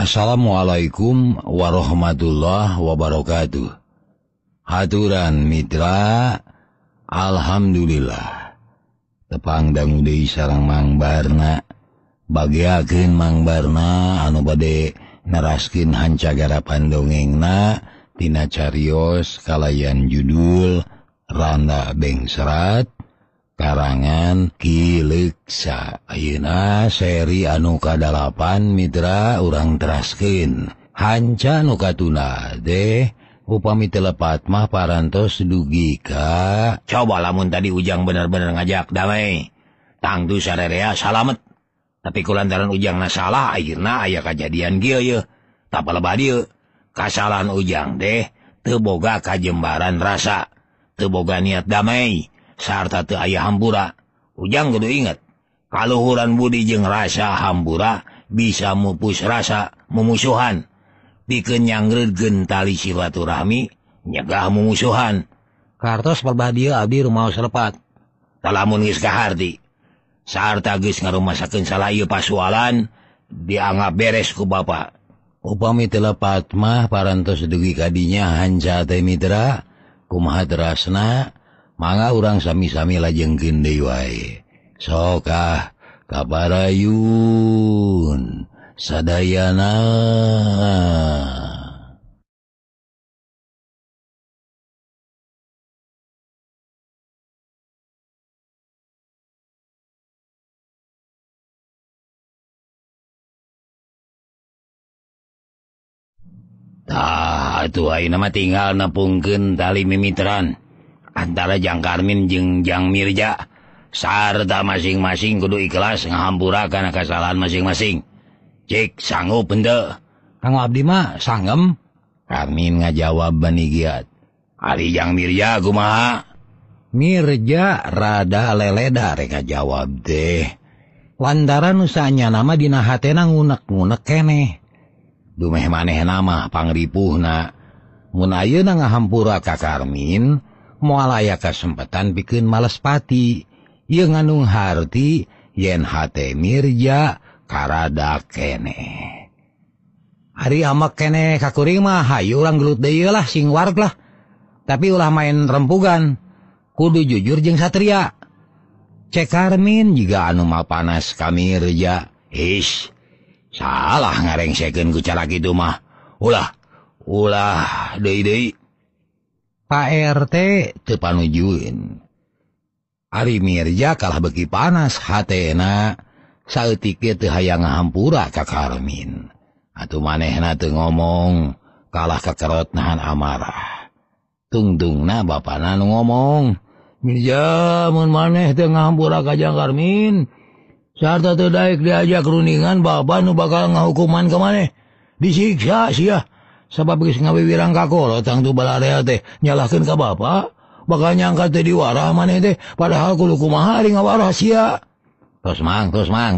Assalamualaikum warahmatullahi wabarakatuh. Haturan mitra, alhamdulillah. Tepang dangu deui sareng Mang Barna. Bagiakeun Mang Barna anu bade neraskeun hancagarapan dongengna tina carios kalayan judul Randa Bengserat karangan Ki Leuksa. Ayeuna seri anu ka-8 mitra urang teraskeun. Hanca nu katuna teh upami telepat mah parantos dugi ka. Coba lamun tadi Ujang bener-bener ngajak damai. Tangtu sarerea salamet. Tapi kulantaran Ujangna salah akhirna aya kajadian kieu ye. Tapalebah dieu. Kasalahan Ujang teh teu boga kajembaran rasa, teu boga niat damai. Sarta teu aya hambura. Ujang kudu inget, kaluhuran budi jeung rasa hambura bisa mupus rasa mumusuhan. Pikeun nyangreudkeun tali silaturahmi, nyegah mumusuhan. Kartos perbah dieu abdi rumaos lepat. Talamun geus kaharti, sarta geus ngarumasakeun salah ieu pasualan, dianggap beres ku Bapa. Upami teu lepat mah parantos dugi kadinya hanca teh mitra, kumaha terasna? Mangga urang sami-sami lajengkeun deui wae. Sokah kabarayun sadayana. Tah atuh ayeuna mah tinggal nepungkeun tali mimitran antara Jang Karmin jeung Jang Mirja, sarta masing-masing kudu ikhlas ngahampura kana kasalahan masing-masing. Cik sanggup henteu? Kang abdi mah sanggem. Karmin ngajawab bani giat. Ari Jang Mirja kumaha? Mirja rada leleda rek ngajawab teh. Lantaran usahanya nama dina hatena ngunek-ngunek keneh. Dumeh manehna mah pangripuhna. Mun ayeuna ngahampura ka Karmin, moal aya kasempatan pikeun males pati. Ieu ngandung harti yen hate Mirja karada keneh. Ari amek keneh ka kuring mah hayu urang gelut deui lah sing wareg lah. Tapi ulah main rempugan. Kudu jujur jeung satria. Cek Karmin jiga anu mapanas ka Mirja. Ish, salah ngarengsekeun ku cara kitu mah. Ulah deui. Pak RT teu panujuin. Ari Mirja kalah beuki panas hatena saeutik teu hayang ngahampura ka Karmin. Atuh manehna teu ngomong, kalah kakerot nahan amarah. Tungtungna bapana nu ngomong, "Mirja, mun maneh teu ngahampura ka Jang Karmin, sarta teu daek diajak rundingan bapa nu bakal ngahukuman ka maneh. Disiksa sia. Sabab geus ngawiwirang ka kolot tangtu balarea teh nyalahkeun ka Bapa, bakal nyangka teh diwarah maneh teh padahal kudu kumaha ari ngawarah sia." Tos mang.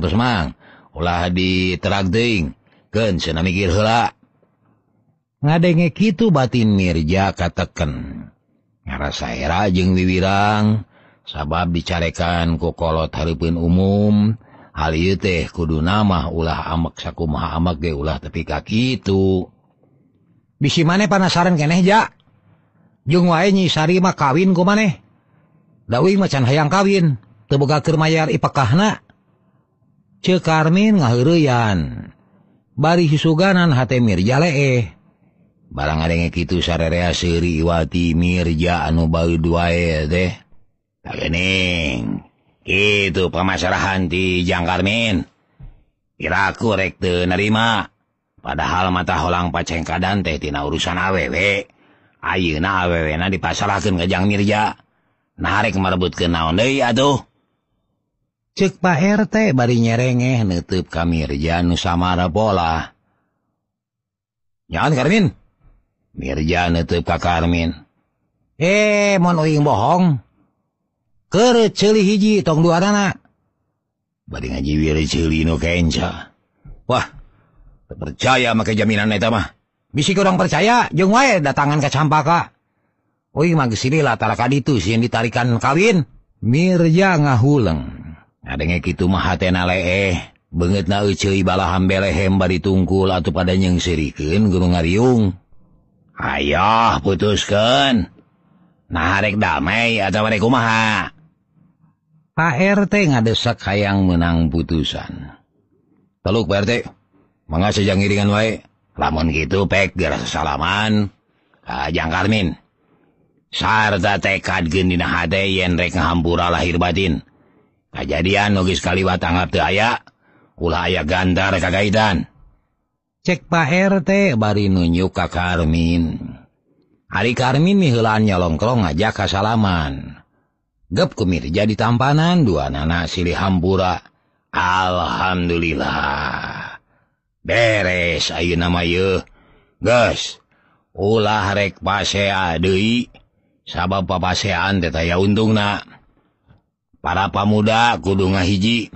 Ulah diterag teuing. Keun cenah mikir heula. Ngadenge kitu batin Mirja kateken. Ngarasa era jeung wiwirang sabab dicarekan ku kolot hareupeun umum. Hal ieu teh kuduna mah ulah amek sakumaha amek ge ulah tepi ka kitu. Bisi maneh panasaran keneh ja. Jeung wae Nyi Sari mah kawin ku maneh. Da uing macan hayang kawin, teu boga keur mayar ipekahna. Ceuk Karmin ngaheureuyan. Bari susuganan hate Mirja leeh. Barang ngadenge kitu sarerea seuri iwati Mirja anu baeud wae teh. Tagening. Kitu pamasarahan ti Jang Karmin. Piraku rek teu narima. Padahal mata holang pacengkadan teh tina urusan awewe. Ayeuna awewena dipasarahkeun ka Jang Mirja. Nah rek marebutkeun naon deui atuh? Ceuk Pak RT bari nyerengeh neuteub ka Mirja nu samara pola. Nyaon Karmin? Mirja neuteub ka Karmin. Mun uing bohong. Keur ceuli hiji tong duanana. Bari ngajiwir ceuli nu kenca. Wah, percaya make jaminan eta mah. Bisi kurang percaya, jeung wae datangan ka Campaka. Uing mah geus silih latara ka ditu sieun ditarikan kawin. Mirja ngahuleng. Ngadenge kitu mah hatena leeh. Banget na uceuy balahan belehem bari tungkul atuh pada nyengsirikeun Gunung Ngariung. Ayo putuskeun. Nah rek damai atawa rek kumaha? Pak RT ngadesak hayang menang putusan. Teluk Pak RT, mangga sejang ngiringan wae. Lamun kitu pek gerasa salaman. Jang Karmin. Sarta tekadkeun dina hate yen rek ngahampura lahir batin. Kajadian nu geus kaliwat anggap teu aya. Ulah aya gantar kagaitan. Cek Pak RT bari nunjuk ka Karmin. Hari Karmin miheulaan nyolongkrong ngajak ka salaman. Gep ku Mirja di tampanan dua nana silih hampura. Alhamdulillah. Beres ayeuna mah yeuh. Geus, ulah rek pasea deui. Sabab papasean teh taya untungna. Para pamuda kudu ngahiji.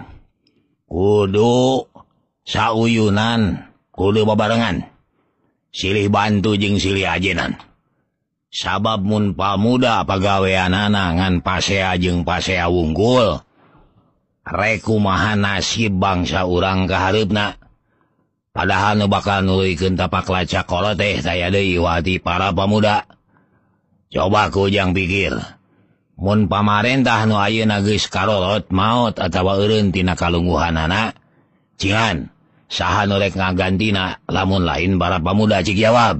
Kudu sauyunan, kudu babarengan. Silih bantu jeung silih ajenan. Sabab mun pamuda pagaweanana ngan pasea jeung pasea wungkul. Rek kumaha nasib bangsa urang ka hareupna. Padahal nu bakal nuluykeun tapak lacak kolot teh taya deui wati para pamuda. Coba kujang pikir. Mun pamarentah nu ayeuna geus karolot maot atawa eureun tina kalungguhanana, cingan saha nu rek ngagantina lamun lain para pamuda cik jawab.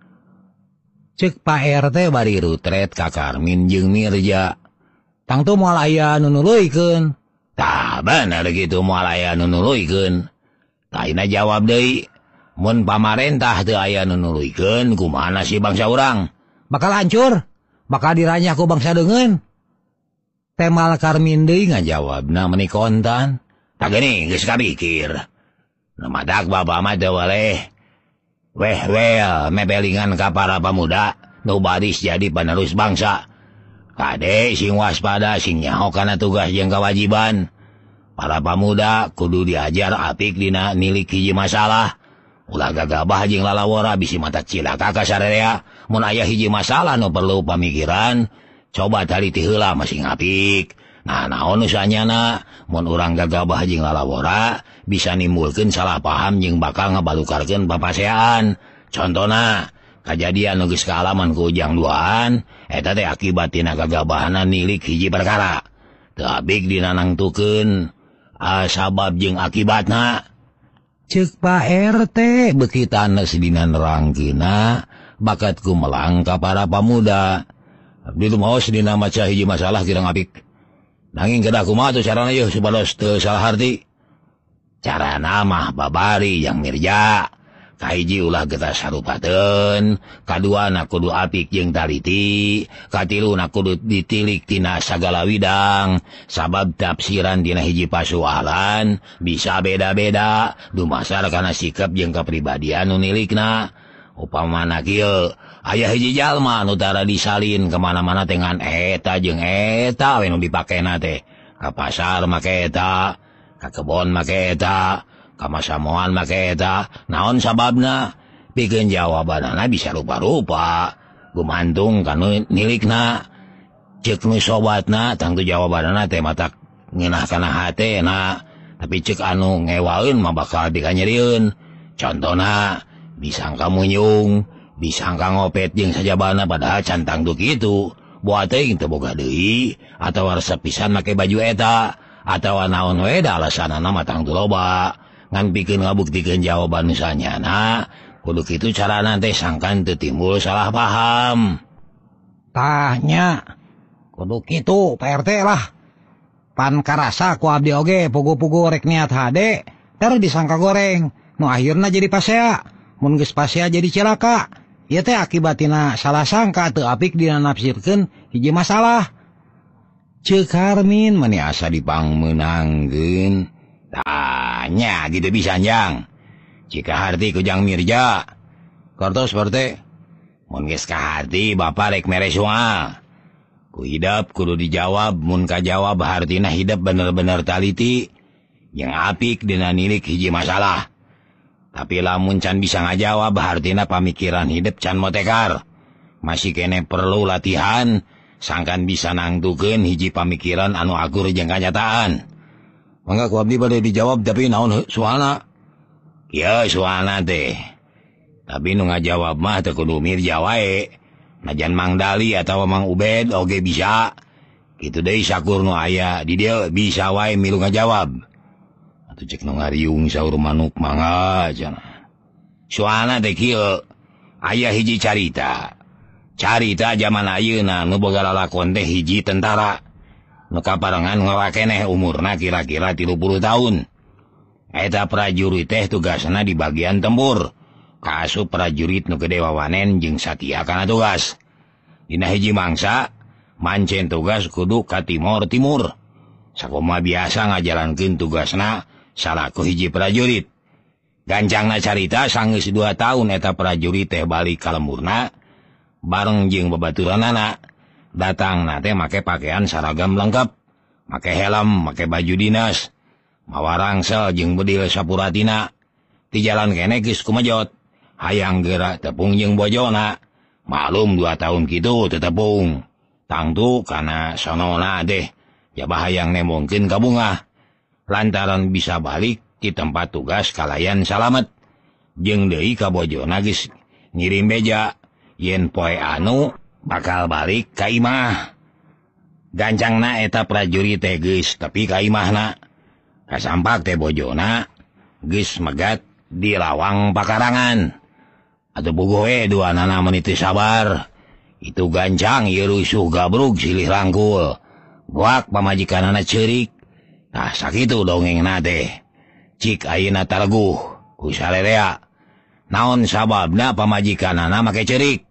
Cek Pak RT bari rutret ka Karmin jeung Mirja. Tangtu moal aya nu nuluykeun. Tah bener kitu moal aya nu nuluykeun. Taina jawab deui, mun pamarentah teu aya nu nuluykeun kumaha nasib bangsa urang? Bakal hancur. Bakal diranyah ku bangsa deungeun. Temal Karmin deui ngajawabna meuni kontan. Tak geuning geus kapikir. Nu madak bapa mah teu waleh. Weh mebelingan ka para pamuda nu baris jadi penerus bangsa. Kade sing waspada sing nyaho kana tugas jeung kewajiban. Para pamuda kudu diajar apik dina nilik hiji masalah. Ulah gagabah jeung lalawora bisi mata cilaka ka sararea. Mun aya hiji masalah nu perlu pamikiran, coba taliti heula masing apik. Nah, naon usahanyana, mun urang gagabah jeung lalawora bisa nimbulkeun salah paham jeung bakal ngabalukarkeun papaseaan. Contona, kajadian nu geus kaalaman ku ujang duaan, eta teh akibat tina gagabahanna nilik hiji perkara. Teu abik dina nangtukeun sabab jeung akibatna. Ceuk Pak RT beukitana sedina nerangkeunna bakat kumelang ka para pamuda. Abdi lumaos dina maca hiji masalah kirang apik. Nanging kedah kumaha tu carana yeuh supados teu salah harti. Carana mah babari yang Mirja. Kahiji ulah getah sarupateun, kaduana kudu apik jeung taliti, katiluna kudu ditilik tina sagala widang, sabab tafsiran tina hiji pasoalan bisa beda-beda dumasar kana sikap jeung kapribadian nu nilikna. Upamana kieu, aya hiji jalma nu tara disalin kemana-mana dengan eta jeung eta we nu dipakena teh. Ka pasar make eta, ka kebon make eta, ka masamoan make eta. Naon sababna? Pikeun jawabanana bisa rupa-rupa, gumantung kanu nilikna. Ceuk nu sobatna tangtu jawabanana teh matak ngeunah kana hatena, tapi ceuk anu ngewaeun mah bakal dikanyerieun. Contona, disangka munyung, disangka ngopet jeung sajabana padahal can tangtu kitu. Buat teuing teu boga deui atawa resep pisan make baju eta, atawa naon we da alasanana mah tangtu loba. Ngan pikeun ngabuktikeun jawaban nu sanyana, kudu kitu carana teh sangkan teu timbul salah paham. Tanya, kudu kitu Pak RT lah. Pan karasa ku abdi oge pugu-pugu rek niat hade, terus disangka goreng. Nu akhirna jadi pasea. Mun geus pasea jadi cilaka. Ieu teh akibatina salah sangka teu apik dina nafsirkeun hiji masalah. Ceuk Karmin meni asa dipangmeunangkeun. Tanya gitu bisa jang. Jika harti ku Jang Mirja. Kortos seperti. Mun geus kaharti bapa rek mere soal. Ku hidap kudu dijawab, mun kajawab hartina hidap bener-bener taliti. Yang apik dina nilik hiji masalah. Tapi lamun can bisa ngajawab hartina pamikiran hidup can motekar. Masih kene perlu latihan, sangkan bisa nangtukeun hiji pamikiran anu akur jeung kanyataan. Mangga ku abdi bade dijawab tapi naon soalna? Ya soalna teh. Tapi nu ngajawab mah teu kudu Mirja wae. Najan Mang Dali atawa Mang Ubed oge bisa. Kitu deui sakur nu aya di dieu bisa wae milu ngajawab. Atuh cek nu ngariung saur manuk mangga cenah. Soalna teh kieu, aya hiji carita. Carita zaman ayeuna nu boga lalakon teh hiji tentara. Nu kaparengan ngawakeneh umurna kira-kira 30 tahun. Eta prajurit teh tugasna di bagian tempur. Kaasup prajurit nu gede wawanen jeung satia kana tugas. Dina hiji mangsa, mancen tugas kudu ka timur-timur. Sakumaha biasa ngajalankeun tugasna salaku hiji prajurit. Gancangna carita sanggeus 2 tahun eta prajurit teh balik ka lemburna. Bareng jeung babaturanana, datangna teh make pakaian saragam lengkap, make helm, make baju dinas, mawa rangsel jeung bedil sapuratina. Di jalan kene geus kumejot, hayang geura tepung jeung bojona. Maklum 2 tahun kitu teu tepung. Tangtu kana sonona teh jabah hayang nemongkeun ka bungah. Lantaran bisa balik di tempat tugas kalayan salamet. Jeung deui ka bojona geus ngirim beja. Yen poe anu bakal balik ka imah. Gancangna eta prajurit teh geus tepi ka imahna. Kasampak teh bojona geus megat di lawang pakarangan. Atuh bogoh we duanana meuni teu sabar. Itu gancang ieu rusuh gabrug silih rangkul. Goak pamajikanana ceurik. Tah sakitu dongengna teh. Cik ayeuna taleguh ku salerea. Naon sababna pamajikanana make ceurik?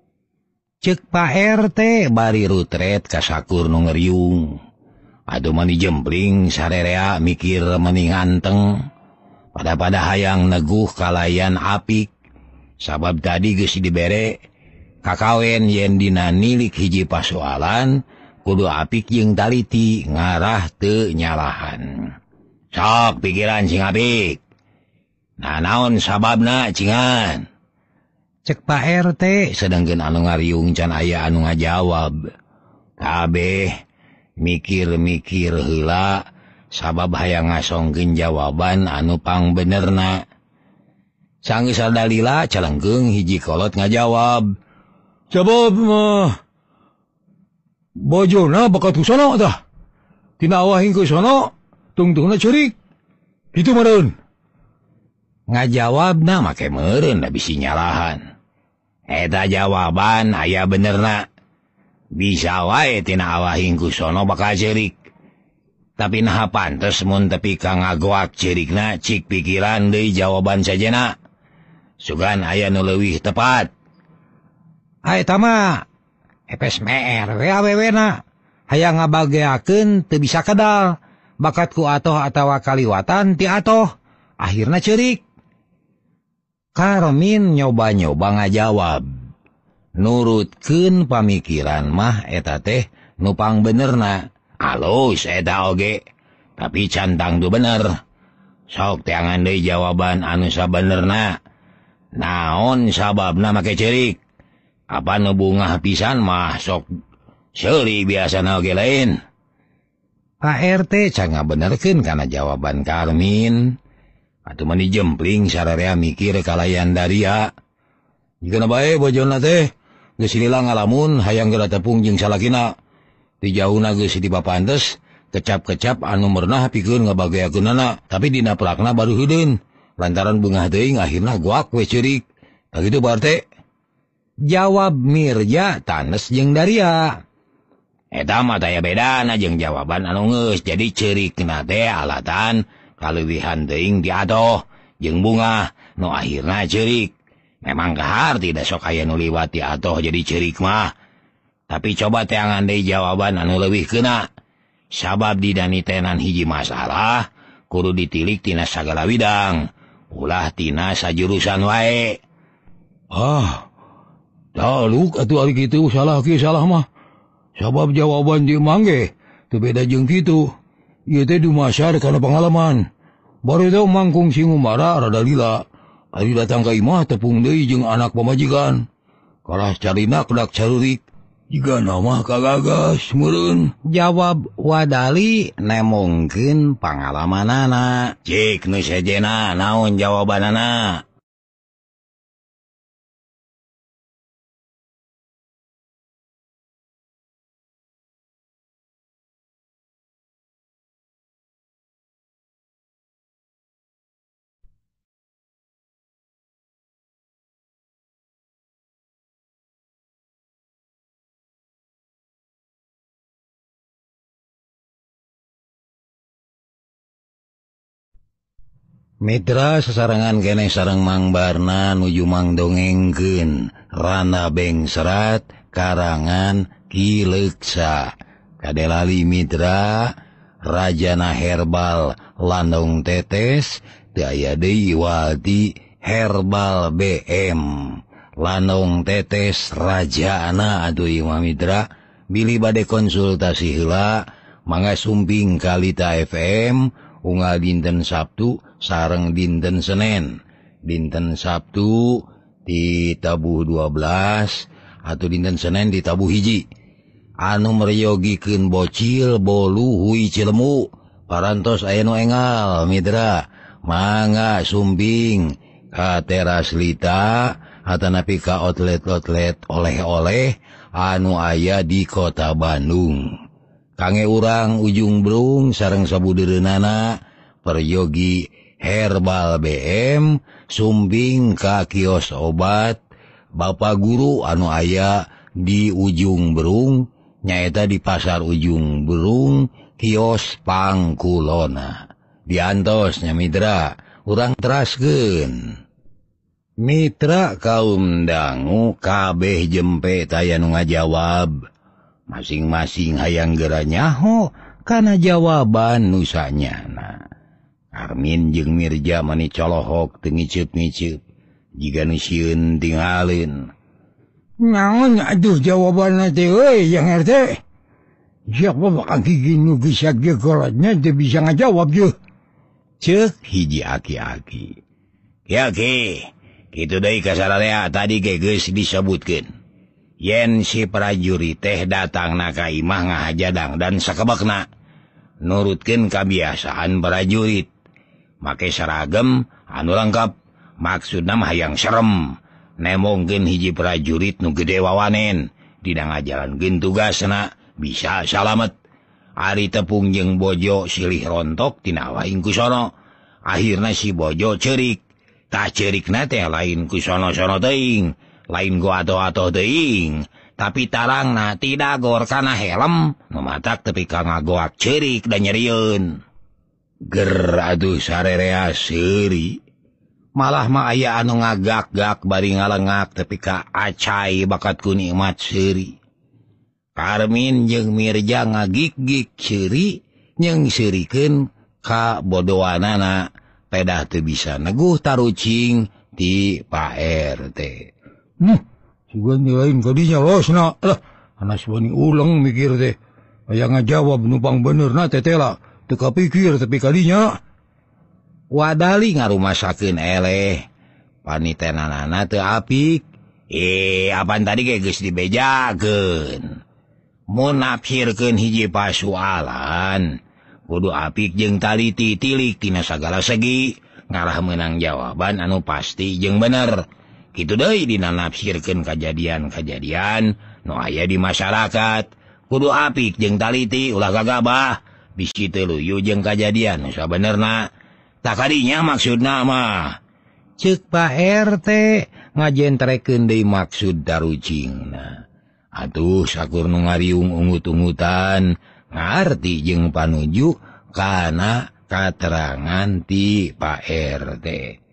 Cek Pak RT bari rutret ka sakur nu ngeriung. Atuh mani jempling sarerea mikir meni nganteng. Pada hayang neguh kalayan apik. Sabab tadi geus dibere kakawen yen dina nilik hiji pasoalan kudu apik jeung taliti ngarah teu nyalahan. Sok pikiran sing apik. Nah naon sababna cingan? Cek Pak RT sedengkeun anu ngariung can aya anu ngajawab. Kabeh mikir-mikir heula sabab hayang ngasongkeun jawaban anu pangbenerna. Sanggeus sadalila calengkeung hiji kolot ngajawab. Sabab mah bojona bakat sono tah. Tina awah hingkeun sono tungtungna ceurik. Kitu meureun. Ngajawabna make meureun da bisi nyalahan. Eta jawaban aya benerna. Bisa wae tina awahing ku sono bakal ceurik. Tapi naha pantes mun tepi ka ngagoak ceurikna cik pikiran deui jawaban sajana. Sugan aya nu leuwih tepat. Eta mah epes meer we awewena. Hayang ngabageakeun teu bisa kedal. Bakat ku atoh atawa kaliwatan ti atoh. Akhirna ceurik. Karmin nyoba-nyoba ngajawab. Nurutkeun pamikiran mah eta teh nu pangbenerna. Alus eta oge, tapi cantang tu bener. Sok teangan deui jawaban anu sabenerna. Naon sababna make ceurik? Apa nu bungah pisan mah sok seuli biasana oge lain. Pak RT can ngabenerkeun kana jawaban Karmin. Atuh mani jempling sararea mikir kalayan daria. Jikeuna bae bojonna teh geus lila ngalamun hayang geura tepung jeung salakina. Di jauhna geus dipapantes kecap-kecap anu merenah pikeun ngabageakeunana, tapi dina prakna baru heudeun. Lantaran beungah teuing akhirna goak we ceurik. Tah kitu Pak RT. Jawab Mirja tanes jeung daria. Eta mah taya bedana jeung jawaban anu geus jadi ceurikna teh alatan kaleuwihan teuing ti atoh jeung bunga nu akhirna ceurik. Memang kahar tidak sok aya nu liwat ti atoh jadi ceurik mah. Tapi coba teangan deui jawaban anu leuwih keuna. Sabab dina nitenan hiji masalah kudu ditilik tina sagala widang. Ulah tina sajurusan wae. Taluk atuh ari kitu salah ke salah mah. Sabab jawaban di mangge teu beda jeung kitu. Ieu teh dumasar kana pengalaman. Baru teh mangkung si ngumara rada lila. Ari datang ka imah tepung deui jeung anak pamajikan. Kalah carina kedak carurik. Jika nama kagagas meureun, jawab Wadali nemongkeun pangalamanana. Cik nu sejena naon jawabanana? Mitra sasarangan keneh sareng Mang Barna nuju mangdongengkeun Rana Beng Serat karangan Ki Leuksa. Kadelali mitra, Rajana Herbal Landung Tetes teu aya deui walti Herbal BM. Landung Tetes Rajana atuh ieu mitra, bilih bade konsultasi heula mangga sumping ka Lita FM unggal dinten Sabtu sareng dinten Senen. Dinten Sabtu di tabuh 12 atau dinten Senen di tabuh 1. Anu meryogikeun bocil bolu hui Cilemu parantos aya nu engal mitra, mangga sumping ka teras Lita atanapi ka outlet-outlet oleh-oleh anu aya di kota Bandung. Kange urang Ujung Berung sareng sabudeureunana peryogi Herbal BM sumping ka kios obat Bapak Guru anu aya di Ujung Berung, nyaeta di Pasar Ujung Berung kios Pangkulona. Diantosnya mitra, urang teraskeun. Mitra kaum dangu kabeh jempe taya nu ngajawab. Masing-masing hayang geura nyaho kana jawaban nu sanyana. Armin jeung Mirja mani colohok teu ngiceup-ngiceup, jiga nu sieun tinggalin. Naon atuh jawabanna teh euy yang RT? Siapa bakal gigi nu geus gegoratna teu bisa ngajawab yeuh. Ceuk hiji aki-aki. Ki, kitu deui kasararea tadi ge geus disebutkeun. Yen si prajurit teh datangna ka imah ngahajadang dan sakebekna nurutkeun kabiasaan prajurit, make seragam anu lengkap, maksudna mah hayang serem, nemongkeun hiji prajurit nu gede wawanen dina ngajalankeun tugasna bisa salamet. Ari tepung jeung bojo silih rontok tina lain ku sono, akhirna si bojo ceurik, tah ceurikna teh lain ku sono-sono teuing, lain go atoh-atoh teuing, tapi tarangna tidak gor kana helm, mematak tepi ka ngagoak ceurik da nyerieun. Ger aduh sarerea seuri, malah mah aya anu ngagak-gak bari ngalengak tepi ka acai bakat ku nikmat seuri. Karmin jeung Mirja ngagik-gik seuri nyeng seurikeun ka bodoanana pedah teu bisa neguh tarucing ti Pak RT. Sugan lain kadinya losna. Alah, anas bani ulang mikir teh. Aya ngajawab numpang benerna tetela. Teu kapikir tapi kadinya. Wadali ngarumasakeun eleh. Panitenanana teu apik. Apaan tadi ge geus dibejakeun. Mun nafsirkeun hiji pasoalan, kudu apik jeung taliti tilik tina sagala segi, ngarah meunang jawaban anu pasti jeung bener. Kitu deui dina nafsirkeun kajadian-kajadian nu aya di masyarakat, kudu apik jeung taliti ulah gagabah, bisi teu luyu jeung kajadian nu sabenerna. Tak kadinya maksudna mah. Ceuk Pak RT ngajentrekeun deui maksud darucingna. Atuh sakur nu ngariung ungut-ungutan ngarti jeung panuju kana katerangan ti Pak RT.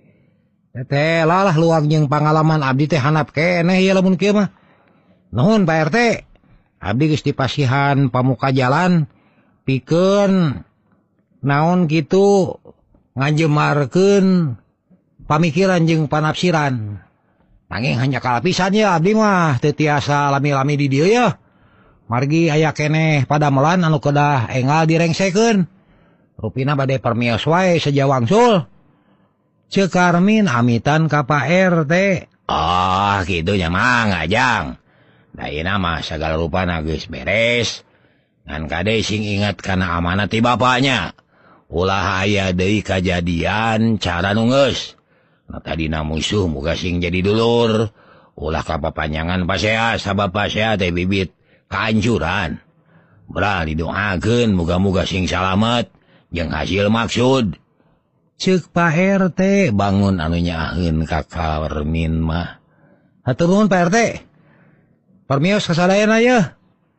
Teh lalah luang jeung pangalaman abdi teh handap keneh ieu lamun kieu mah. Nuhun Pak RT. Abdi geus dipasihan pamuka jalan pikeun naon kitu ngajemarkeun pamikiran jeung panafsiran. Nanging hanya kalapisan ya abdi mah teu tiasa lami-lami di dieu ya. Margi aya keneh padamelan anu kedah engal direngsekeun. Rupina bade permios wae saja wangsul. Ceuk Karmin amitan ka Pak RT. Oh, kitu nya mah ngajang. Dayeuna mah sagala rupana geus beres. Ngan kade sing ingat kana amanat ti bapaknya. Ulah aya deui kajadian cara nu geus. Na tadina musuh muga sing jadi dulur. Ulah kapapanjangan pasea sabab pasea teh bibit kahancuran. Beral didoakeun muga-muga sing salamet jeung hasil maksud. Ceuk Pak RT bangun anu nyaaheun ka Karmin mah. Hatur nuhun Pak RT. Permios kasadayan aya.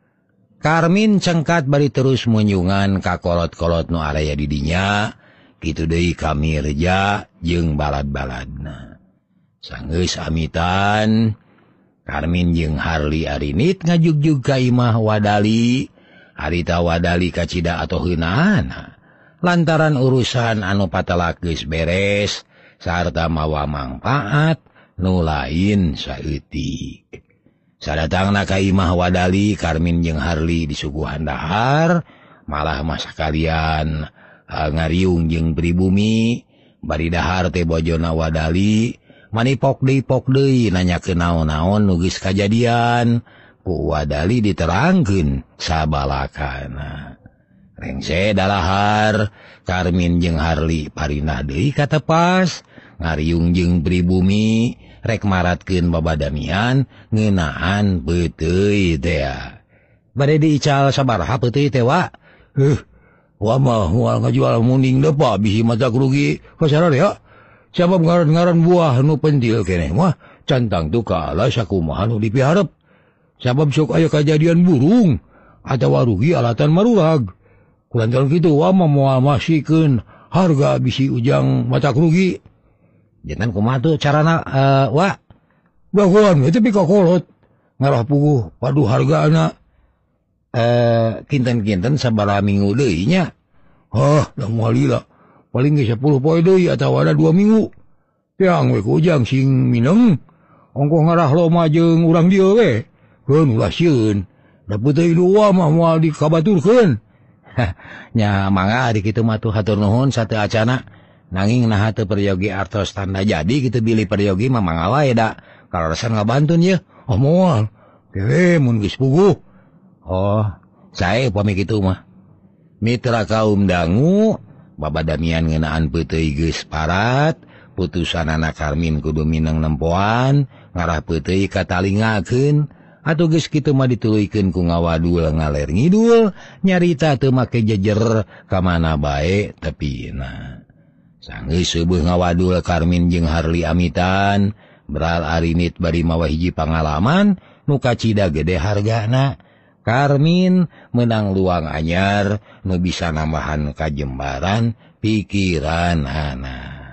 Karmin cengkat bari terus munjungan ka kolot-kolot nu area di dinya, kitu deui ka Mirja jeung balad-baladna. Sanggeus amitan, Karmin jeung Harli Arinit ngajugjug ka imah Wadali, harita Wadali kacida atoh heunana. Lantaran urusan anu patelak geus beres, sarta mawa mangpaat nu lain saeutik. Sadatangna ka imah Wadali, Karmin jeung Harli disuguhan dahar, malah masa kalian ngariung jeung pribumi, bari dahar teh bojona Wadali, manipok deui nanyakeun naon-naon nu geus kajadian, ku Wadali diterangkeun sabalakana. Rengse dalahar, Karmin jeung Harli parinah deui ka tepas, ngariung jeung pribumi, rek maratkeun babadamian ngeunaan peuteuy teh. Bade diical sabaraha peuteuy teh wa? Wa mah moal ngajual muning deui Pak bisi mata rugi kasarana ya. Sabab ngaran-ngaran buah nu pentil keneh mah cantang tu kaala sakumaha nu dipiharep. Sabab sok aya kajadian burung atawa rugi alatan marurag. Kulantaran kitu wa mah moal masikeun harga bisi ujang mata rugi. Jangan kumaha tuh carana wa bagoan tapi kakolot ngarah puguh padu hargana kinten-kinten sabaraha minggu deui nya. Da moal lila paling ge 10 poe deui atawa ada 2 minggu. Yang we ku ujang sing mineng ongko ngarah loma jeung urang dieu we. Keun ulah sieun. Da peuteuy dua mah moal dikabaturkeun. Nya mangga ari kitu mah tuh hatur nuhun sateu acana. Nanging naha teu peryogi artos tanda jadi kitu bilih peryogi mah mangga wae da. Kalaresan ngabantun ye. Moal. Dewe mun geus puguh. Sae upami kitu mah. Mitra kaum dangu babadamian ngeunaan peuteuy geus parat, putusanana Karmin kudu mineng nempoan, ngarah peuteuy katalingakeun. Atuh geus kitu mah dituluykeun ku ngawadul ngaler ngidul, nyarita teu make jejer ka mana bae tepina. Sanggeus seubeung ngawadul Karmin jeung Harli amitan, beral Arinit bari mawa hiji pangalaman nu kacida gede hargana. Karmin menang luang anyar nu bisa nambahan kajembaran pikiran anak.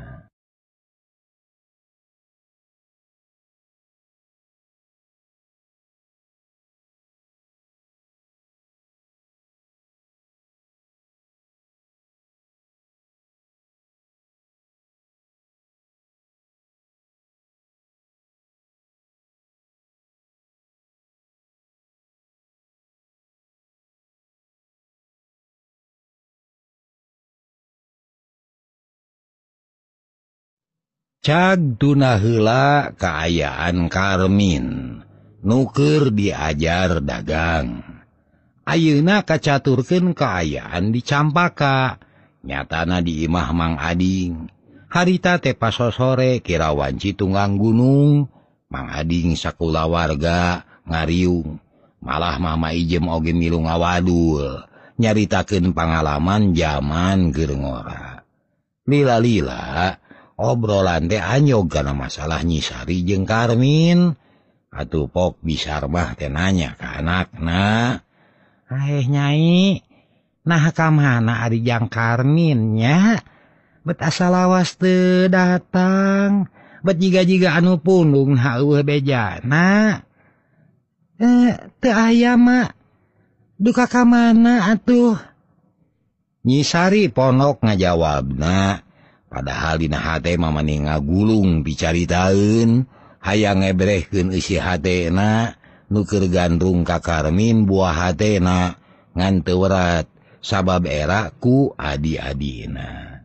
Cag tuna heula kaayaan Karmin, nuker diajar dagang. Ayeuna kacaturkeun kaayaan di Campaka, nyatana di imah Mang Ading. Harita teh pasosore kira wanci tunggang gunung, Mang Ading sakulawarga ngariung. Malah Mama Ijem oge milu ngawadul, nyaritakeun pangalaman jaman keur ngora. Lila-lila obrolan teh anyog kana masalah Nyisari jeung Karmin. Atuh pok bisar mah teh nanya ka anakna, Nyai, nah ka mana ari jang Karmin nya? Bet asa lawas teu datang, bet jiga-jiga anu pundung heueuh bejana. Teu aya mak, duka ka mana atuh? Nyisari ponok ngajawabna. Padahal dina hate mah mani ngagulung dicaritaeun, hayang ngebrehkeun isi hatena, nu keur gandrung ka Karmin buah hatena, ngan teu werat, sabab era ku adi-adina.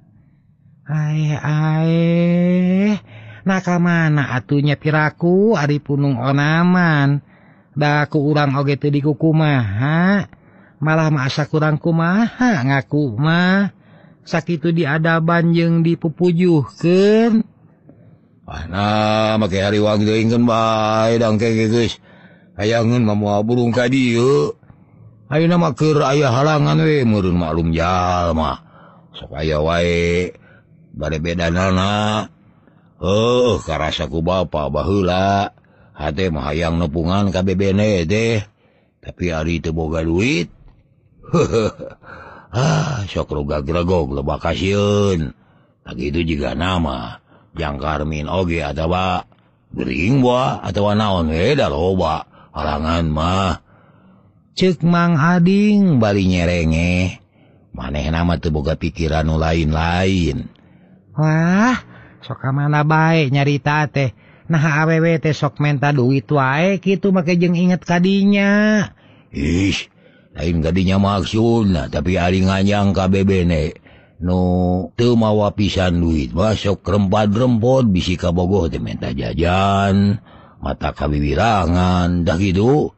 Nah ka mana atuh nya piraku ari punung onaman, Da ku urang oge teu dikukumaha, malah masa kurang kumaha ngaku mah. Sakitu diadaban jeung dipupujuhkeun. Nah, make hariwang teuingkeun bae dangke geus. Hayangeun mah moal burung ka dieu. Ayeuna mah keur aya halangan we meureun maklum jalma. Sok aya wae bade bedanana. Karasa ku bapa baheula. Hate mah hayang nepungan ka bebene teh. Tapi ari teu boga duit. Sok rogag-regog lebah kasieun. Lagi itu juga nama Jang Karmin oge atawa gering boa atawa naon we da loba halangan mah. Ceuk Mang Ading Bari nyerenge. Manehna mah teu boga pikiran nu lain-lain. Wah, sok ka mana bae nyarita teh. Nah awewe teh sok menta duit wae kitu make jeung inget kadinya. Ish, lain kadinya maksudna, tapi ari nganyang ka bebene nu teu mawa pisan duit mah sok rempad-rempot bisi ka bogoh teh menta jajan, mata kawiwirangan, dah gitu.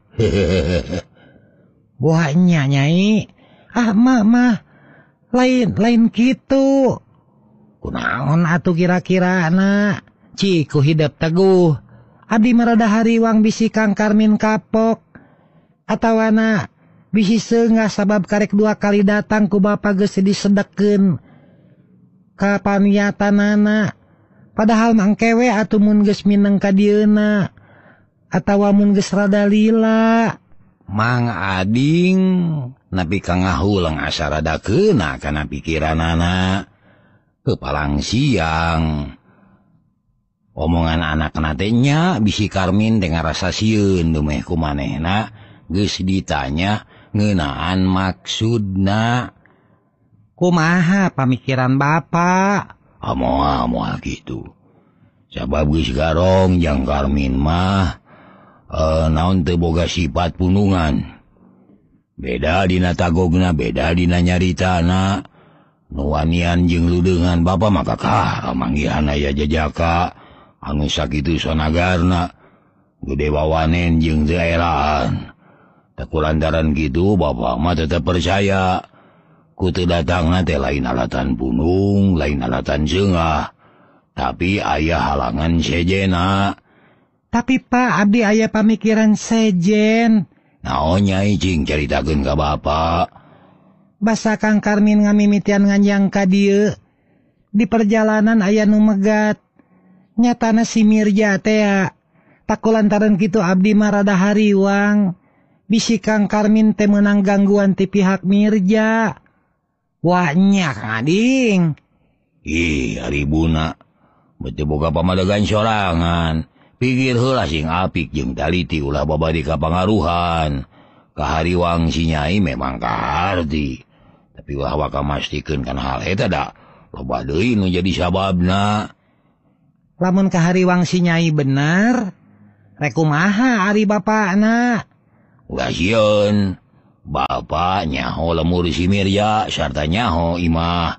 Wah nya Nyai. Mah lain kitu. Kunaon atuh kira-kira na? Ciku hidup teguh. Abdi marada hariwang bisi Kang Karmin kapok. Atawana bisi seungah sabab karek 2 kali datang ku bapa geus disedekeun ka paniatanana. Padahal mangkewe atuh mun geus mineng ka dieuna atawa mun geus rada lila. Mang Ading napi ka ngahulang asa rada keuna kana pikiranana. Kepalang siang. Omongan anak teh nya bisi Karmin teh ngarasa sieun dumeh ku manehna geus ditanya ngeunaan maksudna. Kumaha pamikiran Bapak? Moal gitu. Sabab geus garong Jang Karmin mah naon teu boga sifat punungan. Beda dina tagogna, beda dina nyaritana. Nu wanian jeung ludeungan bapa mah kakah manggihan aya jajaka anu sakitu sonagarna gede wawanen jeung daerahan. Takulantaran gitu bapa mah tetep percaya ku teu datangna teh lain alatan punung, lain alatan seungah, tapi aya halangan sejena. Tapi Pak, abdi aya pamikiran sejen. Naon Nyai cing caritakeun ka bapa? Basa Kang Karmin ngamimitian nganjang ka dieu. Di perjalanan aya nu megat. Nyatana si Mirja teh takulantaran kitu abdi mah rada hariwang. Bisi Kang Karmin teh meunang gangguan ti pihak Mirja. Wah nya Kang Ading. Aribuna. Bete boga pamadagan sorangan. Pikir heula sing apik jeung taliti ulah babadi ka pangaruhan. Kahariwang si Nyai memang kaharti. Tapi ulah waka mastikeun kana hal eta da loba deui nu jadi sababna. Lamun kahariwang si Nyai bener, rek kumaha ari bapakna? Ulah sieun. Bapak nyaho lemur si Mirja sarta nyaho imah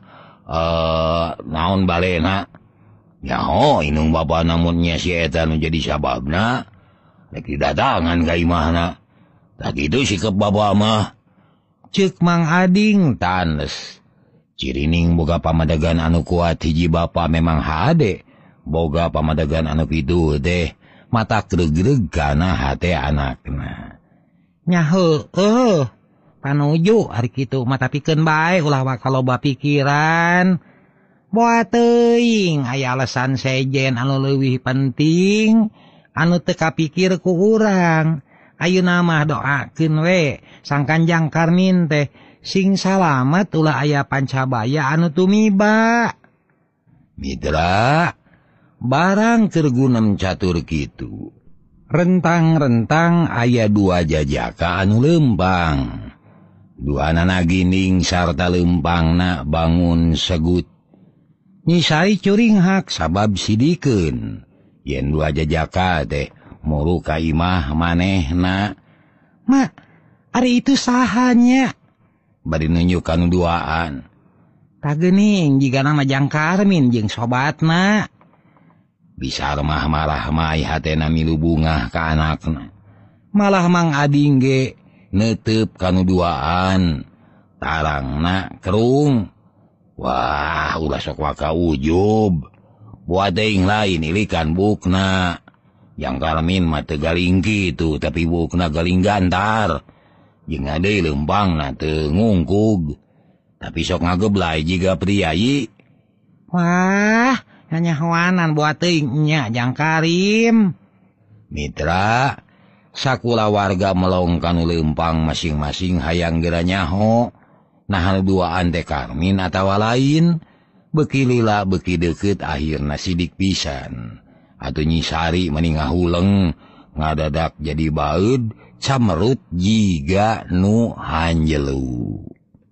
naon balena. Nyaho inung bapa namunnya si eta nu jadi sababna rek didatangan ka imahna. Tak gitu sikep bapa mah. Ceuk Mang Ading tanes. Cirining boga pamadagan anu kuat hiji bapa memang hade. Boga pamadagan anu pitu teh mata gregreg kana hate anakna. Nya heueuh. Panuju ari kitu mata pikeun bae ulah wakaloba pikiran. Boa teuing aya alasan sejen anu leuwih penting anu teu kapikir ku urang. Ayeuna mah doakeun we Sang Kanjang Karmin teh sing salamet ulah aya pancabaya anu tumiba. Mitra, barang keur gunem catur kitu. Rentang-rentang aya 2 jajaka anu lempang. 2 anak gining sarta lempangna bangun segut. Nyisai curing hak sabab sidikeun. Yen 2 jajaka teh muru ka imah manehna. Mak, ari itu sahanya. Bari nunjukan duaan. Kageuning jiga nama Jang Karmin jeung sobatna. Bisa remah marah mai hatena milu bungah ka anakna. Malah Mang Ading ge netep kanuduaan tarangna kerung. Wah, ulah sok waka ujub. Buat aing lain ilikan bukna. Yang Karmin mah teu galing kitu, tapi bukna galing gantar. Jeung ade lempangna teu ngungkug. Tapi sok ngageblay jiga priayi. Wah, nyanyahoanan buat aing nya Jang Karim. Mitra, sakula warga melongkan lempang masing-masing hayang geura nyaho. Nah duaan teh Karmin atawa lain, beki lila beki deukeut akhirna sidik pisan. Atuh Nyi Sari meni ngahuleng, ngadadak jadi baeud, camerut jiga nu hanjelu.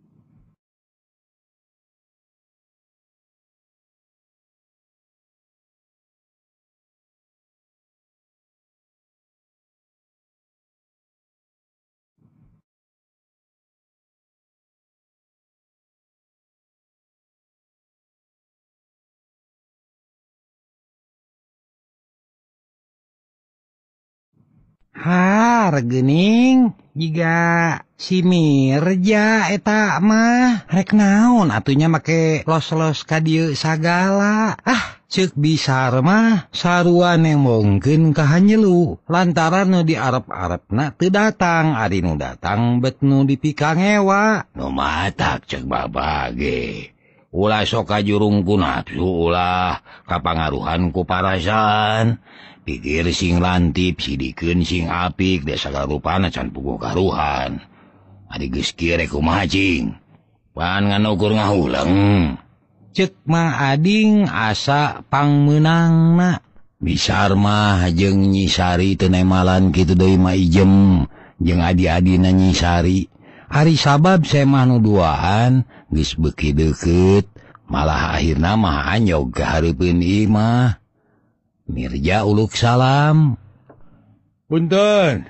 Gening jiga si Mirja eta mah rek naon atunya make los-los ka dieu sagala. Ceuk bisar mah sarua nemongkeun ka hanjelu lantaran nu diarep-arepna teu datang, ari nu datang bet nu dipikang ewa. Nu matak ceuk babage. Ulah sok kajurung ku nafsu, ulah kapangaruhan ku parasaan. Pikir sing lantip, sidikeun sing apik, desa garupana can puguh karuhan. Adi geus kieu rek kumaha cing? Pan nganukur ngahuleng. Ceuk Mang Ading asa pangmeunangna. Bisar mah jeung Nyi Sari teu nemalan kitu deui mah ijem jeung adi-adina Nyi Sari. Ari sabab saya mah nu duaan geus beuki deukeut, malah akhirna mah anyog ka hareupeun ieu mah. Mirja uluk salam. Punten.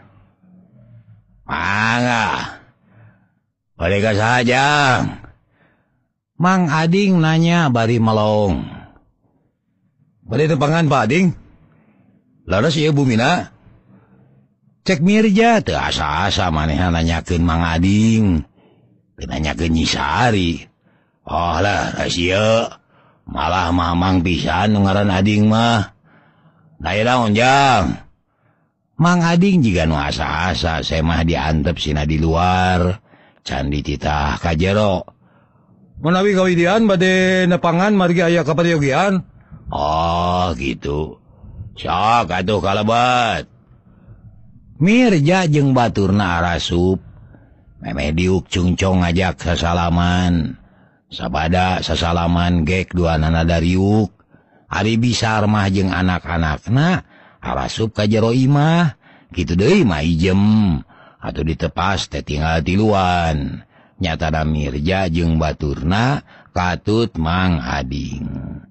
Mangga. Bade ka saja. Mang Ading nanya bari melong. Bade tempangan Pak Ading. Laras ieu bumina. Cek Mirja teu asa-asa manehna nanyakeun Mang Ading. Teu nanyakeun Nyi Sari. Oh lah rahasia. Malah mamang pisan nu ngaran Ading mah. Daya daun Jang. Mang Ading jiga nu asa-asa saya mah diantep sina di luar. Can dititah ka jero. Menawi kawidian bade nepangan margi aya kapariogian. Oh gitu. Sok atuh kalebat. Mirja jeung baturna arasup. Memeh diuk cungcong ngajak sasalaman. Sabada sasalaman gek duanana dariuk. Ari bisar mah jeung anak-anakna arasup ka jero imah, kitu deui mah ijem, atuh ditepas teh tinggal tiluan. Nyatana Mirja jeung baturna katut Mang Ading.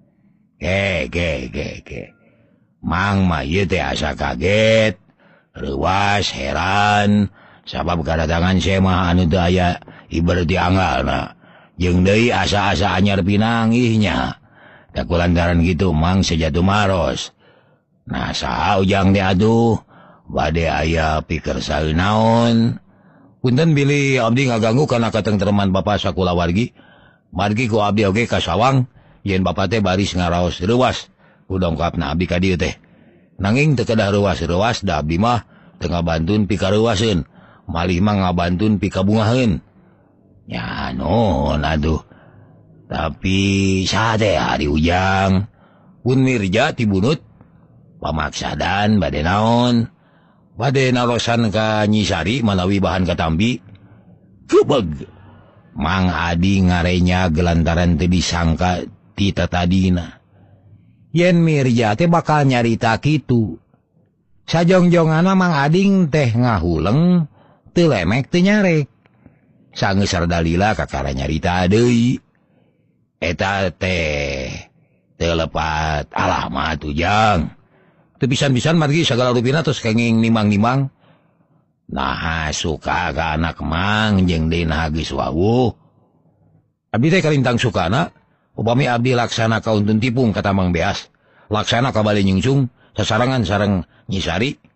Ke. Mang mah ieu teh asa kaget, reuwas, heran, sabab kadatangan saya mah anu teu aya ibarat dianggalna. Jeung deui asa-asa anyar pinanggihnya. Tak kulantaran gitu Mang sejatuh maros. Nah saha ujang teh atuh bade aya pikir saeunaon. Punten bilih abdi ngaganggu kana katengtreman Bapak sakula wargi. Margi ku abdi oge ka sawang yen Bapak teh baris ngaraos reuwas ku dongkapna abdi ka dieu teh. Nanging teu kedah reuwas-reuwas da abdi mah teu ngabantun pikareuwaseun, malih mah ngabantun pikabungaheun. Ya non aduh. Tapi sade hari ujang. Pun Mirja tibunut. Pamaksadan bade naon? Bade narosan ka Nyi Sari malawi bahan katambi. Gebeg. Mang Ading ngarenya gelantaran teu disangka ti tatadina. Yen Mirja teh bakal nyarita kitu. Sajongjonganna Mang Ading teh ngahuleng, teu lemek teu nyarek. Sangeus sardalila kakara nyarita deui. Eta teh telepat alamat ujang. Teu pisan-pisan margi sagala rupina tos kenging nimang-nimang. Nah suka ka anak Mang jeung dina geus wawuh. Abdi teh kalintang sukana, upami abdi laksana kauntun tipung kata Mang Beas. Laksana ka bale nyungsung sasarangan sareng Nyi Sari.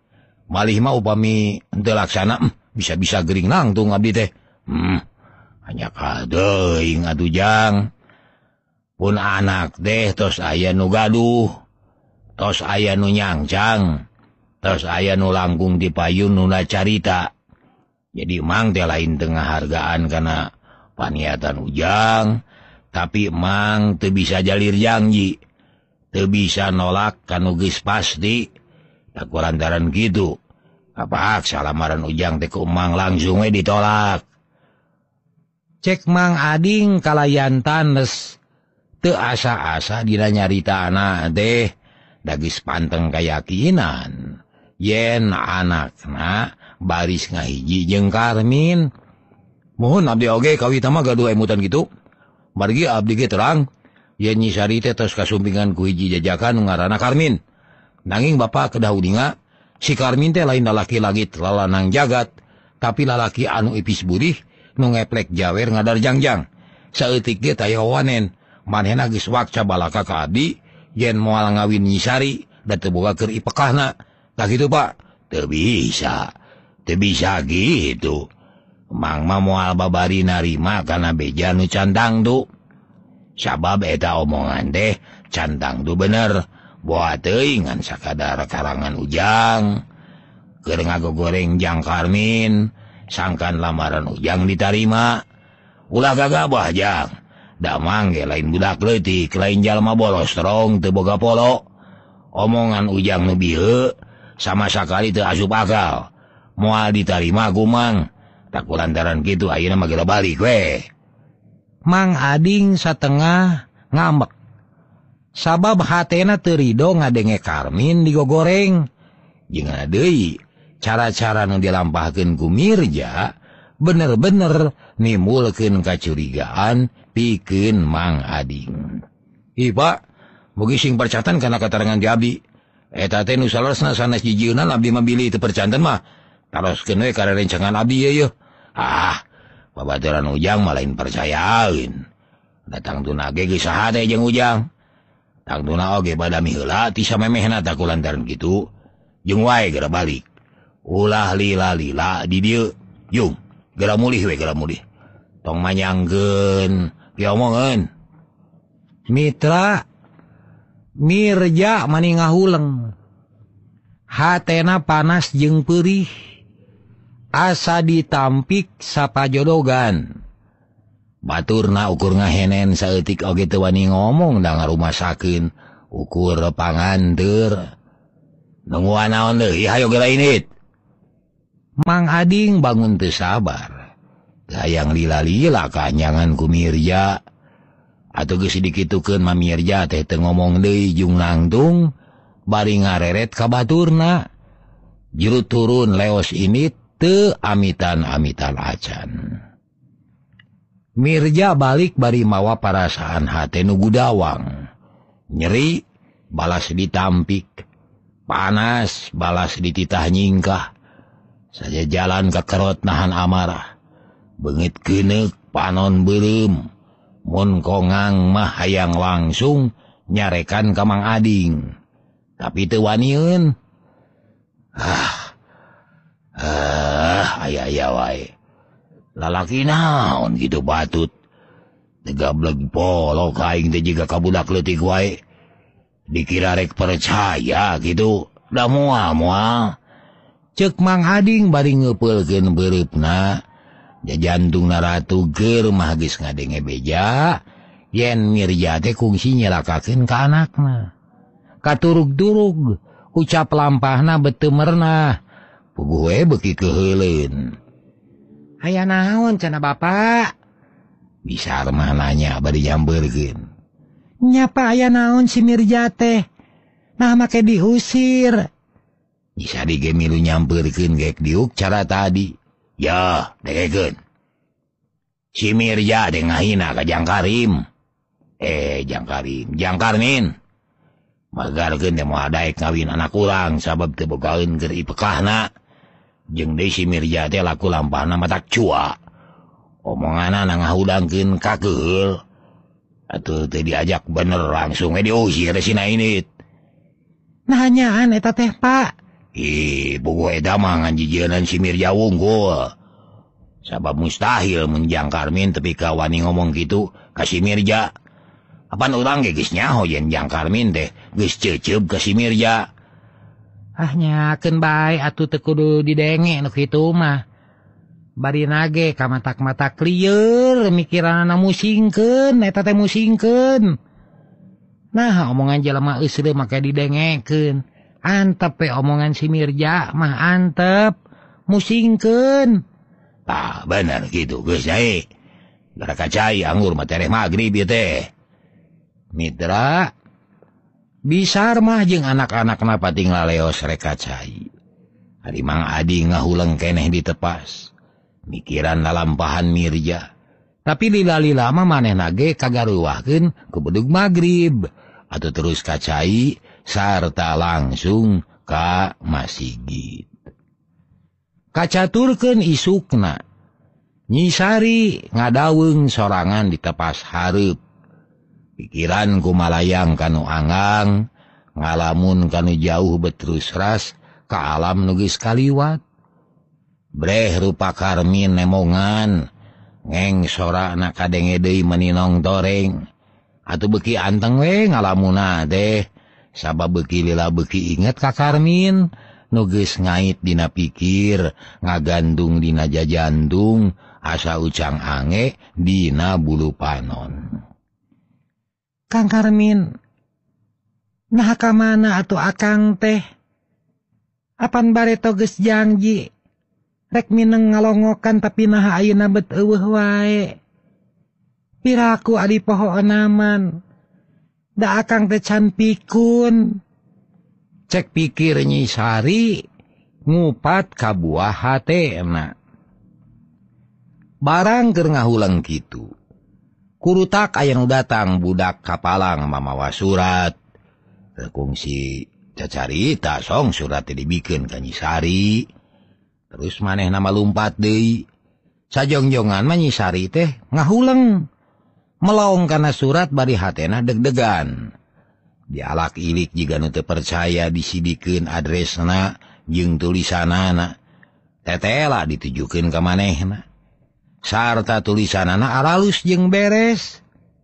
Malih mah upami henteu laksana bisa-bisa gering nangtung abdi teh. Hanya kadeing atuh Jang. Pun anak teh tos aya nu gaduh, tos aya nu nyangcang, tos aya nu langkung di payun nu carita. Jadi mang teh lain tengah hargaan kana paniatan Ujang, tapi mang teu bisa jalir janji, teu bisa nolak kanu geus pasti. Tak kurantaran gitu, kapaksa lamaran Ujang teh ku mang langsung we ditolak. Cek Mang Ading kalayantan les teu asa-asa dina nyarita anak teh, da geus panteng kayakinan yen anakna baris ngahiji jeung Karmin. Mohon abdi oge kawita mah gaduh emutan gitu. Margi abdi ge terang yen Nyi Sari teh tos kasumpingan ku hiji jajakan nu ngaranna Karmin. Nanging bapa kedah udinga, si Karmin teh lain lalaki langit lalanang jagat, tapi lalaki anu ipis burih nu ngeplek jawer ngadar jangjang. Saeutik ge taya wanen, manehna geus wakca balaka ka abdi yen moal ngawin Nyi Sari da teu boga keur ipekahna. Tah kitu Pak, teu bisa gitu. Mang mah moal babari narima kana beja nu cantang tu. Sabab eta omongan teh cantang tu bener. Boa teuing ngan sakadar karangan Ujang. Keur ngagogoreng Jang Karmin, sangkan lamaran Ujang ditarima. Ulah gagabah Jang. Da mangge lain budak leutik, lain jalma bolos terong teu boga polo. Omongan Ujang nu bieu sama sakali teu asup akal. Moal ditarima ku Mang. Tak kulantaran kitu ayeuna mah geura balik we. Mang Ading satengah ngambek. Sabab hatena teu rido ngadenge Karmin digogoreng. Jeung deui cara-cara nu dilampahkeun ku Mirja bener-bener nimbulkeun kacurigaan pikeun Mang Ading. Ih Pak, mugi sing percatan kana katerangan di abdi. Eta teh nu salesna sanes jijieunna abdi mah bilih teu percanten mah. Taroskeun we ka rencangan abdi ye. Babaturan Ujang mah lain percayaeun. Datang tuna ge geus saha teh jeung Ujang. Tang tuna oge badami heula ti samemehna tak kulantaran kitu. Jeung wae geura balik. Ulah lila-lila di dieu. Yung, geura mulih we geura mulih. Tong manyangkeun, diomongeun. Mitra Mirja mani ngahuleng. Hatena panas jeung peurih. Asa ditampik sapajodogan. Baturna ukur ngahenen saeutik oge teu wani ngomong da ngarumasakeun ukur panganteur. Nungguan naon deui hayo ge lainit. Mang Ading bangun teu sabar. Gayang lila-lila kanyangan ku Mirja. Atuh geus dikitukeun mah Mirja teh teu ngomong deui jeung nangtung bari ngareret ka baturna. Juru turun leos ini teu amitan-amitan acan. Mirja balik bari mawa parasaan hate nu gudawang. Nyeri balas ditampik, panas balas dititah nyingkah. Saja jalan ka kerot nahan amarah. Beungit keuneuk panon beureum. Mun kongang mah hayang langsung nyarekan ka Mang Ading. Tapi teu wanieun. Aya wae. Lalaki naon gitu batut. Tegableg polo kaing teh jiga kabudak leutik wae. Dikira rek percaya gitu. Da moal. Ceuk Mang Ading bari ngeupeulkeun beureupna. Jajantungna ratu keur mah geus ngadenge beja yen Mirja teh kungsi nyelakakeun ka anakna. Katurug-turug ucap lampahna beteu mernah. Puguh we beuki keheuleun. Aya naon cenah Bapak? Bisa mah nanya bari nyambeurkeun. Nyapa aya naon si Mirja teh? Nah make diusir. Bisa dige milu nyampeurkeun gek diuk cara tadi. Ya, dekekeun. Si Mirja teh ngahina ka Jang Karim. Jang Karmin. Magarkeun teh moal daek ngawin anak urang sabab teu bogaeun keur ipekahna. Jeung deui si Mirja teh laku lampahna matak cua. Omonganna ngahudangkeun kakeul. Atuh teu diajak bener langsung diusir si Nainit. Nah nyaan eta teh Pak. Pokok eta mah nganjijieun si Mirja wungkul. Sabab mustahil menjang Karmin tepi ka wani ngomong gitu ka si Mirja. Apan urang ge geus nyaho yen Jang Karmin teh geus ceuceup ka si Mirja. Nyakeun bae atuh teu kudu didenge nu kitu mah. Bari nage ka matak-matak lieur mikiranna musingkeun eta teh musingkeun. Nah omongan jelema eusreum make didengekeun. Antep we omongan si Mirja mah antep musingkeun. Tah bener gitu geus jae. Gara kacai anggur mah tereh magrib ieu teh. Mitra bisar mah jeung anak-anakna pating laleos rek kacai. Ari Mang Adi ngahuleng keneh ditepas. Mikiran lalampahan Mirja. Tapi lila-lila mah manehna ge kagaruwahkeun ku bedug magrib atuh terus kacai sarta langsung ka Masigit. Kacaturkeun isukna. Nyi Sari ngadaweung sorangan di tepas hareup. Pikiran kumalayang kanu anggang, ngalamun kanu jauh beterus ras ka alam nu geus kaliwat. Breh rupa Karmin nemongan, ngeng sorana kadenge deui meninong toreng. Atuh beuki anteng we ngalamuna teh, sabab beuki lila beuki inget ka Karmin, nu geus ngait dina pikir, ngagandung dina jajandung, asa ucang ange dina bulu panon. Kang Karmin, nah ka mana atuh akang teh? Apan bareto geus janji, rek mineng ngalongokan tapi nah ayeuna bet eueuh wae. Piraku adi pohonnaman, da akang teh can pikun. Cek pikir Nyi Sari, ngupat ka buah hatena. Barang keur ngahuleng kitu. Kurutak aya nu datang budak kapalang mamawa surat. Kungsi cacarita song surat teh dibikeun ka Nyi Sari. Terus manehna malumpat deui. Sajongjongan mah Nyi Sari teh ngahuleng. Melaong kana surat bari hatena deg-degan. Dialak ilik jiga nu teu percaya disidikeun adresna jeung tulisanana. Tetela ditujukeun ka manehna. Sarta tulisanana aralus jeung beres.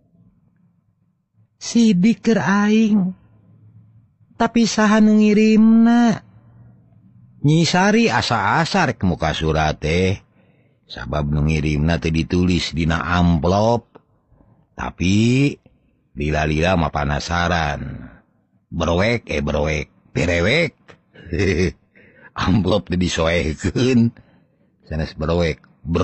Sidik keur aing. Tapi saha nu ngirimna? Nyi Sari asa-asa rek muka surat teh. Sabab nu ngirimna teh ditulis dina amplop. Tapi lila-lila mah panasaran. Berowek, berewek. Amplop teh disoekeun. Sanes berowek,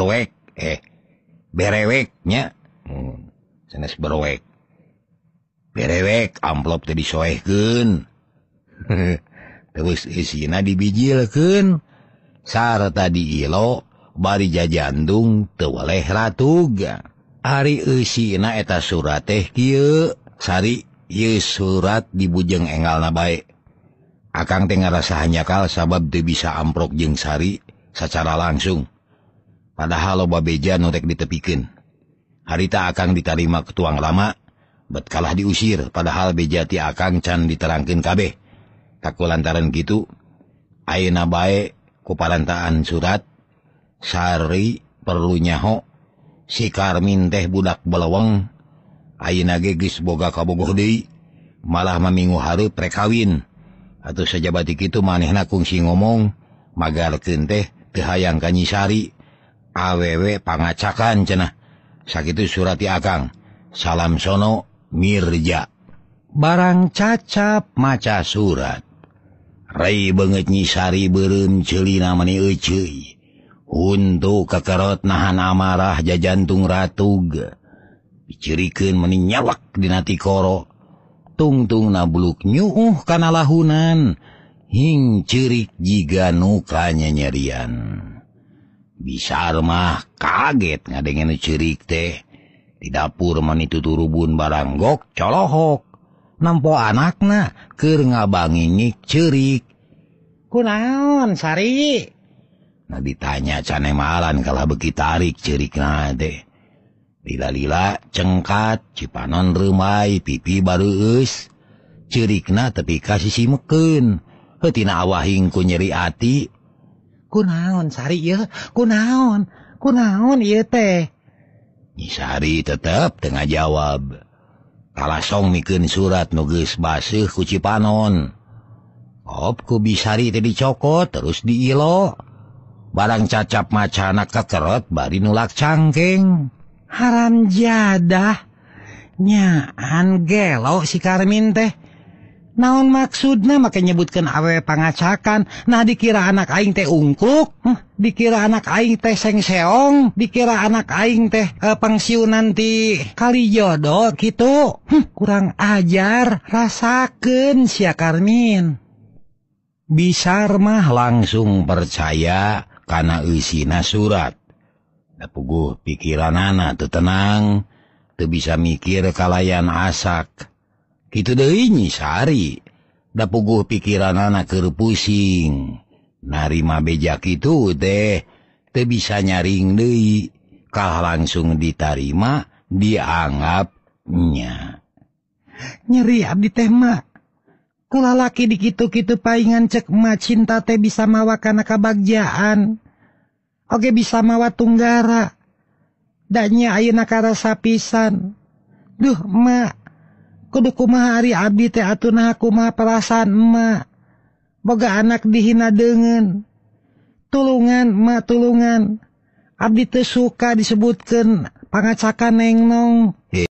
bereweknya. Sanes berowek. Berewek, amplop teh disoekeun. Terus isina dibijilkeun. Sarta diilo, bari jajandung teu weleh ratuga. Ari eusina eta surat teh kieu, Sari, ieu surat dibujeng engalna bae. Akang teh ngarasa hanyakal sabab teu bisa amprok jeung Sari sacara langsung. Padahal loba beja nu rek ditepikeun. Harita akang ditarima ke tuang lama, bet kalah diusir, padahal beja ti akang can diterangkeun kabeh. Taku lantaran kitu, ayeuna bae ku parantaan surat, Sari perlu nyaho si Karmin teh budak beleweng, ayeuna ge geus boga kabogoh deui, malah mamingu hareup rek kawin. Atuh sajabati kitu manehna kungsi ngomong, magarkeun teh teu hayang ka Nyi Sari, awewe pangacakan cenah. Sakitu surat ti akang, salam sono Mirja. Barang cacap maca surat, rei beungeut Nyi Sari beureum ceulina mani euceuy. Untuk kekerot nahan amarah jajantung ratug. Dicirikeun meni nyawak dina tikoro. Tungtung na buluk nyuuh kana lahunan. Hing cirik jiga nuka nyerian. Bisar mah kaget ngadengen cirik teh. Di dapur mani tuturubun barang gok colohok. Nampo anakna keur ngabangingik cirik. Kunaon Sari? Nah ditanya cane malan kalah beki tarik cirikna teh. Lila-lila cengkat, cipanon reumai, pipi bareueus. Cirikna tepi ka sisi meukeun. tina awahing ku nyeri ati. Kunaon Sari ya? Kunaon ieu teh? Nyi Sari tetep tengah jawab. Kalasong mikeun surat nu geus baseuh ku Cipanon. Op ku Bisari teh dicokot terus diilo. Barang cacap macana kekerot bari nulak cangkeng. Haram jadah. Nyaan gelo si Karmin teh. Naon maksudna make nyebutkeun awewe pangacakan. Nah dikira anak aing teh ungkuk, dikira anak aing teh sengseong, dikira anak aing teh pangsiunan ti Kalijodo gitu. Kurang ajar, rasakeun sia Karmin. Bisar mah langsung percaya kana eusina surat. Da puguh pikiranana teu tenang. Teu bisa mikir kalayan asak. Kitu deui Nyi Sari. Da puguh pikiranana keur pusing. Narima beja kitu teh teu bisa nyaring deui. Kah langsung ditarima, dianggap nya. Nyeri abdi teh mah. Kulalaki di kitu-kitu paingan cek emak cinta teh bisa mawa kana kabagjaan. Oge bisa mawa tunggara. Danya ayeuna karasa pisan. Duh emak, kudu kumaha ari abdi teh atuna kumaha perasaan emak. Boga anak dihina deungeun. Tulungan emak tulungan. Abdi teu suka disebutkeun pangacakan nengnong.